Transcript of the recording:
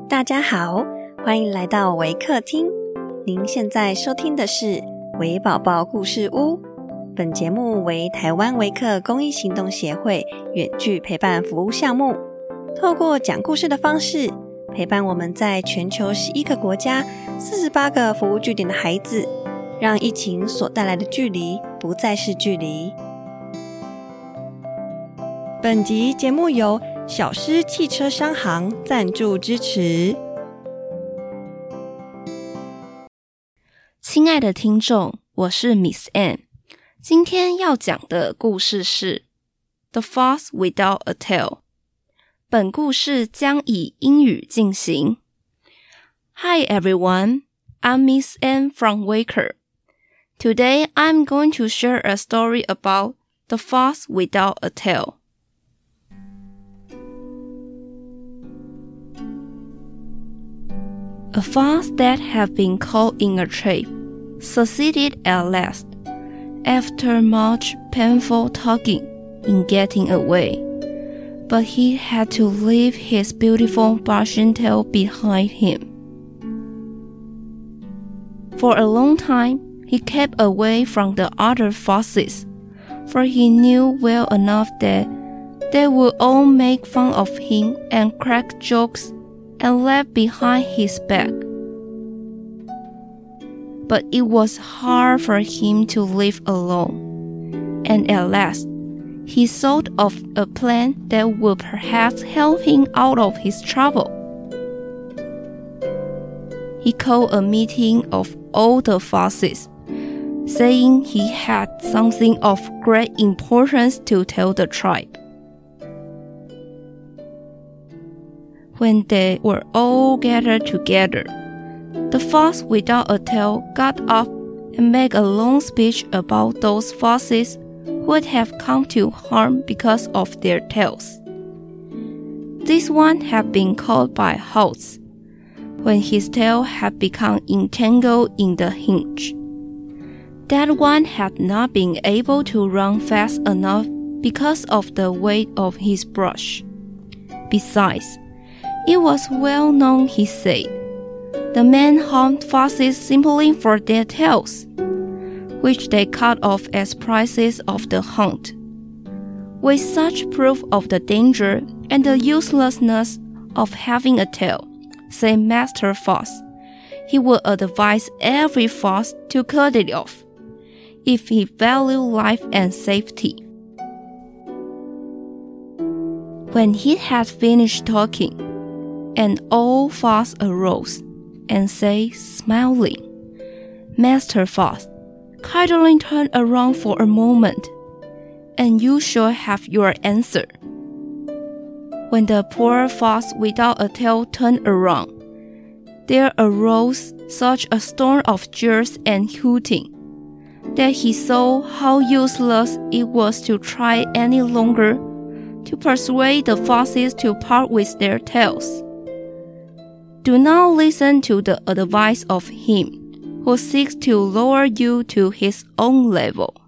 大家好，欢迎来到微客厅。您现在收听的是微宝宝故事屋。本节目为台湾微客公益行动协会远距陪伴服务项目，透过讲故事的方式，陪伴我们在全球11个国家48个服务据点的孩子，让疫情所带来的距离不再是距离。本集节目由小狮汽车商行赞助支持。 亲爱的听众，我是 Miss Anne， 今天要讲的故事是 The Fox Without a Tail。 本故事将以英语进行。 Hi everyone, I'm Miss Anne from Waker. Today I'm going to share a story about The Fox Without a Tail.A fox that had been caught in a trap succeeded at last, after much painful tugging, in getting away, but he had to leave his beautiful brushing tail behind him. For a long time, he kept away from the other foxes, for he knew well enough that they would all make fun of him and crack jokes and laugh behind his back. But it was hard for him to live alone, and at last, he thought of a plan that would perhaps help him out of his trouble. He called a meeting of all the foxes, saying he had something of great importance to tell the tribe.When they were all gathered together, the fox without a tail got up and made a long speech about those foxes who would have come to harm because of their tails. This one had been caught by hawks, when his tail had become entangled in the hinge. That one had not been able to run fast enough because of the weight of his brush. Besides,It was well known, he said, the men harmed foxes simply for their tails, which they cut off as prizes of the hunt. With such proof of the danger and the uselessness of having a tail, said Master Fox, he would advise every fox to cut it off, if he valued life and safety. When he had finished talking,An old fox arose and said, smiling, Master Fox, kindly turn around for a moment, and you shall have your answer. When the poor fox without a tail turned around, there arose such a storm of jeers and hooting, that he saw how useless it was to try any longer to persuade the foxes to part with their tails.Do not listen to the advice of him who seeks to lower you to his own level.